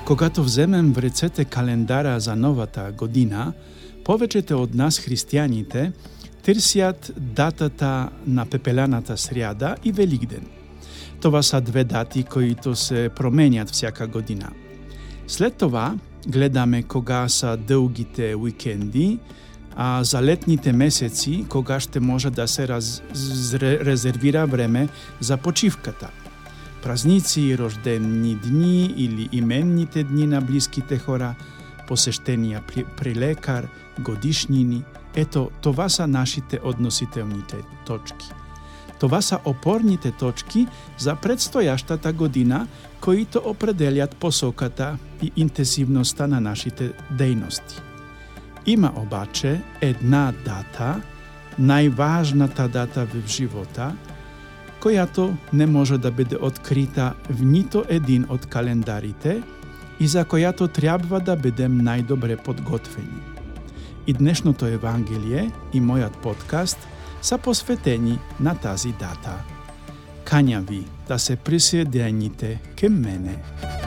Когато вземем в ръцете календара за новата година, повечето от нас, християните, търсят датата на пепеляната сряда и Великден. Това са две дати, които се променят всяка година. След това гледаме кога са дългите уикенди, а за летните месеци, кога ще може да се резервира време за почивката. Празници, рождени дни или именните дни на близките хора, посещения при лекар, годишнини. Ето, това са нашите относителните точки. Това са опорните точки за предстоящата година, които определят посоката и интенсивността на нашите дейности. Има обаче една дата, най-важната дата в живота, която не може да бъде открита в нито един от календарите и за която трябва да бъдем най-добре подготвени. И днешното Евангелие и моят подкаст са посветени на тази дата. Каня ви да се присъедините към мене.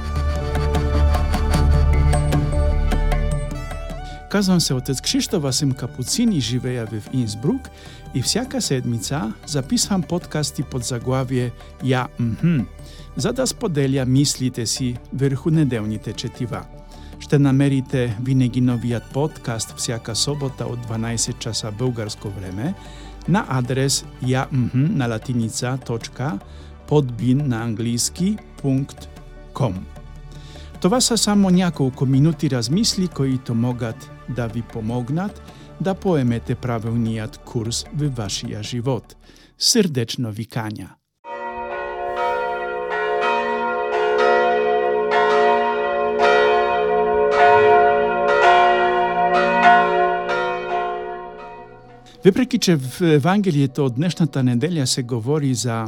Казвам се отец Кшиштоф, аз съм капуцин и живея в Инсбрук и всяка седмица записвам подкасти под заглавие «Я за да споделя мислите си върху неделните четива. Ще намерите винаги новият подкаст всяка събота от 12 часа българско време на адрес na latinica.podbean на английски.com. Това са само няколко минути размисли, които могат да ви помогнат да поемете правилният курс във вашия живот. Сърдечно ви каня! Въпреки че в Евангелието от днешната неделя се говори за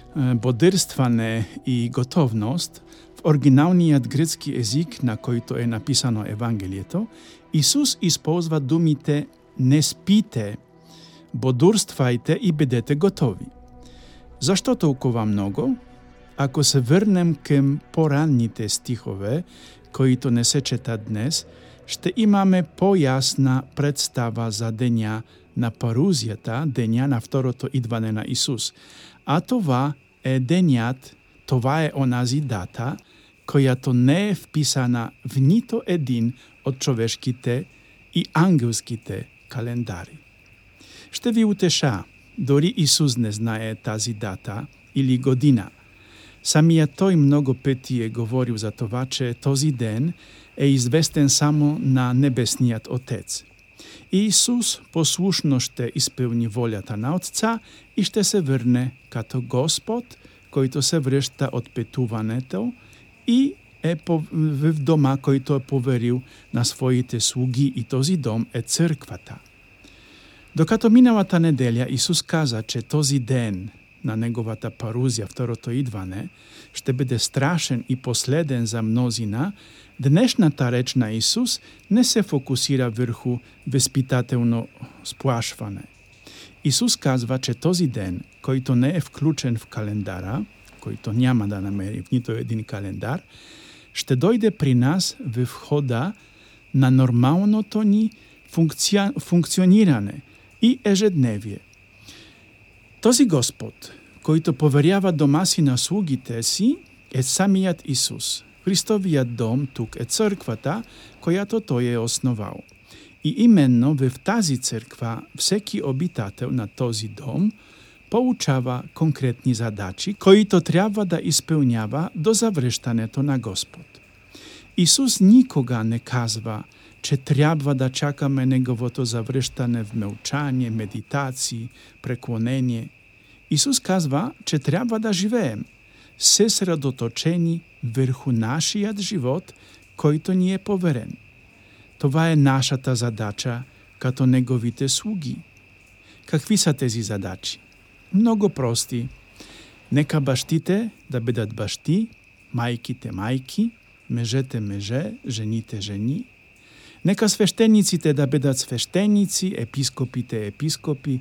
бодрстване и готовност, в оригиналният гръцки език, на който е написано Евангелието, Исус използва думите «не спите», «бодрствайте и бъдете готови». Защо толкова много? Ако се върнем към по-ранните стихове, които не се четат днес, ще имаме по-ясна представа за деня на парузията, деня на второто идване на Исус. А това е денят, това е онази дата, която не е вписана в нито един от човешките и ангелските календари. Ще ви утеша, дори Исус не знае тази дата или година. Самият той много пъти е говорил за това, че този ден е известен само на Небесният Отец. И Исус послушно ще изпълни волята на Отца и ще се върне като Господ, който се връща от пътуването и е в дома, който е поверил на своите слуги, и този дом е църквата. Докато миналата неделя Исус каза, че този ден на неговата парузия, второто идване, ще бъде страшен и последен за мнозина, днешната реч на Исус не се фокусира върху възпитателно сплашване. Исус казва, че този ден, който не е включен в календара, който няма да намери в нито един календар, ще дойде при нас в хода на нормалното ни функциониране и ежедневие. Този Господ, който поверява дома си на слугите си, е самият Исус. Христовият дом тук е църквата, която Той е основал. И именно в тази църква всеки обитател на този дом получава конкретни задачи, които трябва да изпълнява до завръщането на Господ. Исус никога не казва, че трябва да чакаме Неговото завръщане в мълчание, медитации, преклонение. Исус казва, че трябва да живеем съсредоточени върху нашият живот, който ни е поверен. Това е нашата задача като Неговите слуги. Какви са тези задачи? Много прости. Нека бащите да бъдат бащи, майките майки, мъжете мъже, жените жени. Нека свещениците да бъдат свещеници, епископите епископи,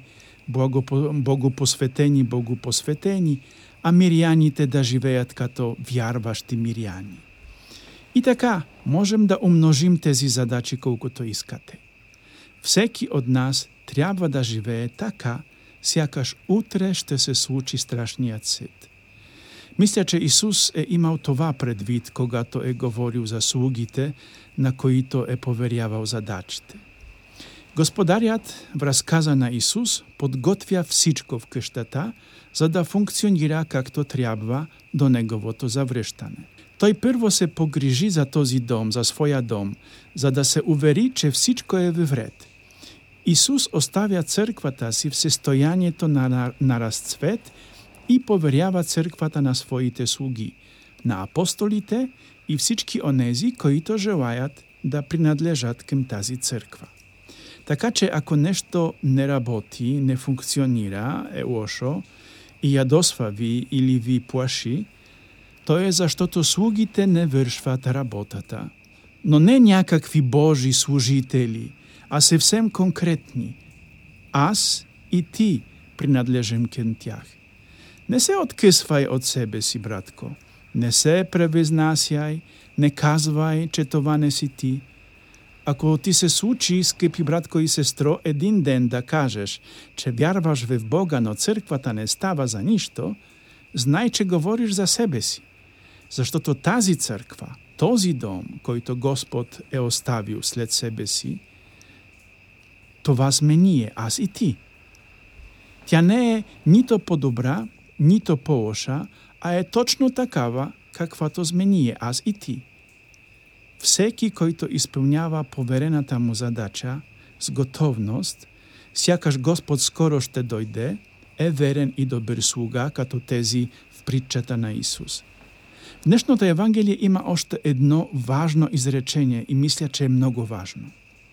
богопосветени богопосветени, а миряните да живеят като вярващи миряни. И така, можем да умножим тези задачи колкото искате. Всеки от нас трябва да живее така, сякаш утре ще се случи страшният съд. Мисля, че Исус е имал това предвид, когато е говорил за слугите, на които е поверявал задачите. Господарят в разказа на Исус подготвя всичко в къщата, за да функционира както трябва до неговото завръщане. Той първо се погрижи за този дом, за своя дом, за да се увери, че всичко е в ред. Исус оставя църквата си в състоянието на разцвет и поверява църквата на своите слуги, на апостолите и всички онези, които желаят да принадлежат към тази църква. Така че ако нещо не работи, не функционира, е лошо и ядосва ви или ви плаши, то е защото слугите не вършват работата. Но не някакви Божи служители, а съвсем конкретни. Аз и ти принадлежим към тях. Не се откъсвай от себе си, братко. Не се превъзнасяй, не казвай, че това не си ти. Ако ти се случи, скъпи братко и сестро, един ден да кажеш, че вярваш в Бога, но църквата не става за нищо, знай, че говориш за себе си. Защото тази църква, този дом, който Господ е оставил след себе си, това сме ние, аз и ти. Тя не е нито по-добра, нито по-лоша, а е точно такава, каквато сме ние, аз и ти. Всеки, който изпълнява поверената му задача с готовност, сякаш Господ скоро ще дойде, е верен и добър слуга, като тези в притчата на Исус. В днешното Евангелие има още едно важно изречение и мисля, че е много важно.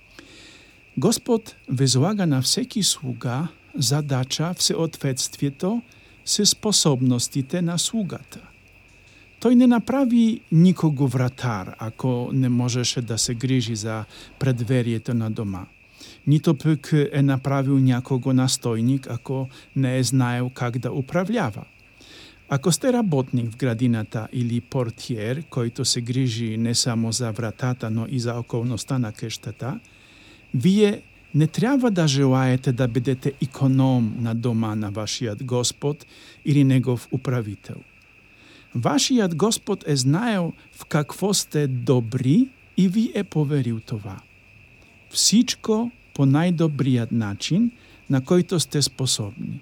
Господ възлага на всеки слуга задача в съответствието с способностите на слугата. Той не направи никого вратар, ако не можеше да се грижи за предверието на дома. Нито пък е направил някого настойник, ако не е знаел как да управлява. Ако сте работник в градината или портиер, който се грижи не само за вратата, но и за околността на къщата, вие не трябва да желаете да бъдете иконом на дома на вашият Господ или негов управител. Вашият Господ е знаел в какво сте добри и ви е поверил това. Всичко по най-добрият начин, на който сте способни.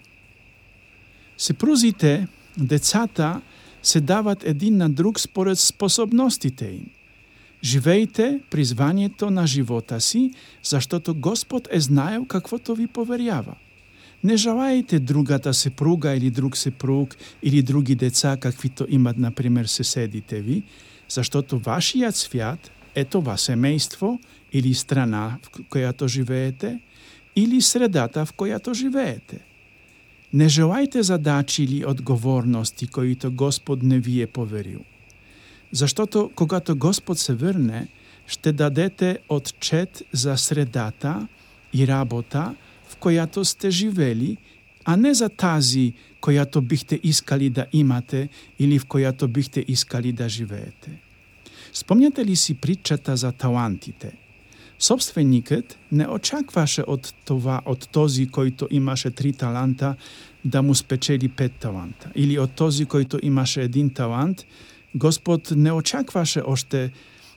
Съпрузите, децата се дават един на друг според способностите им. Живейте призванието на живота си, защото Господ е знаел каквото ви поверява. Не желаете другата съпруга или друг съпруг или други деца, каквито имат, например, съседите ви, защото вашият свят е това семейство или страна, в която живеете, или средата, в която живеете. Не желайте задачи или отговорности, които Господ не ви е поверил. Защото когато Господ се върне, ще дадете отчет за средата и работа, в която сте живели, а не за тази, която бихте искали да имате или в която бихте искали да живеете. Спомняте ли си притчата за талантите? Собственикът не очакваше от този, който имаше 3 таланта, да му спечели 5 таланта. Или от този, който имаше 1 талант, Господ не очакваше още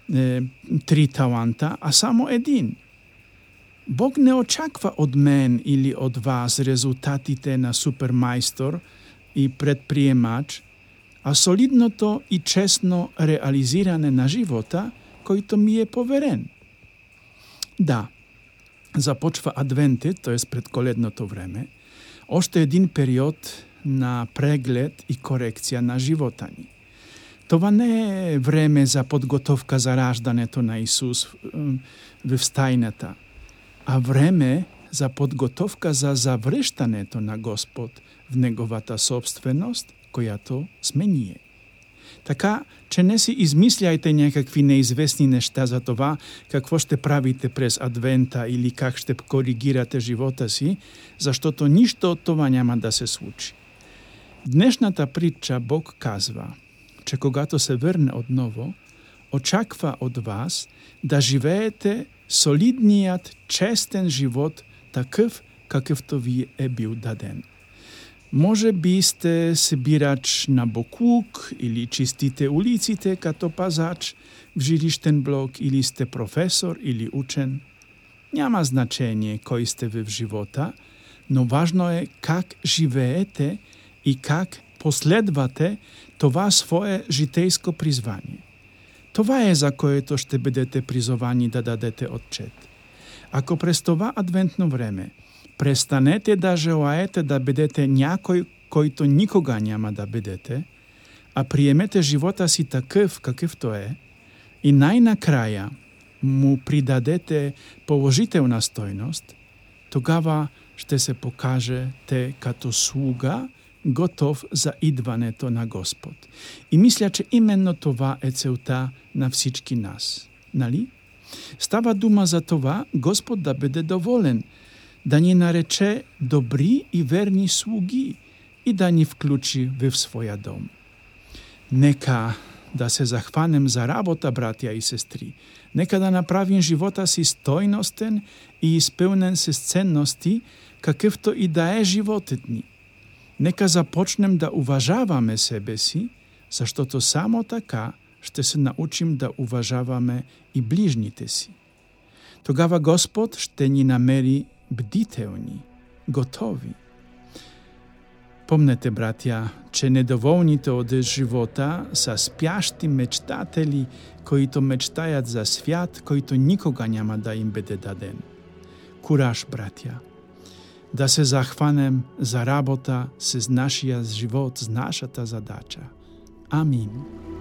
3 таланта, а само 1. Бог не очаква от мен или от вас резултатите на супермайстор и предприемач, а солидното и честно реализиране на живота, който ми е поверен. Да, започва Адвентът, т.е. предколедното време, още един период на преглед и корекция на живота ни. Това не е време за подготовка за раждането на Исус в стайната, а време за подготовка за завръщането на Господ в Неговата собственост, която сме ние. Така, че не си измисляйте някакви неизвестни неща за това, какво ще правите през Адвента или как ще коригирате живота си, защото нищо от това няма да се случи. В днешната притча Бог казва, че когато се върне отново, очаква от вас да живеете солидният, честен живот, такъв, какъвто ви е бил даден. Може би сте събирач на боклук или чистите улиците като пазач в жилищен блок, или сте професор или учен. Няма значение кой сте ви в живота, но важно е как живеете и как последвате това свое житейско призвание. Това е, за което ще бъдете призовани да дадете отчет. Ако през това адвентно време престанете да желаете да бъдете някой, който никога няма да бъдете, а приемете живота си такъв, какъвто е, и най-накрая му придадете положителна стойност, тогава ще се покажете като слуга, готов за идването на Господ. И мисля, че именно това е целта на всички нас. Нали? Става дума за това Господ да бъде доволен, да ни нарече добри и верни слуги и да ни включи в своя дом. Нека да се захванем за работа, братя и сестри. Нека да направим живота си стойностен и изпълнен с ценности, какъвто и да е животът ни. Нека започнем да уважаваме себе си, защото само така ще се научим да уважаваме и ближните си. Тогава Господ ще ни намери бдителни, готови. Помнете, братя, че недоволните от живота са спящи мечтатели, които мечтаят за свят, който никога няма да им бъде даден. Кураж, братя! Да се захванем за работа с нашия живот, с нашата задача. Амин.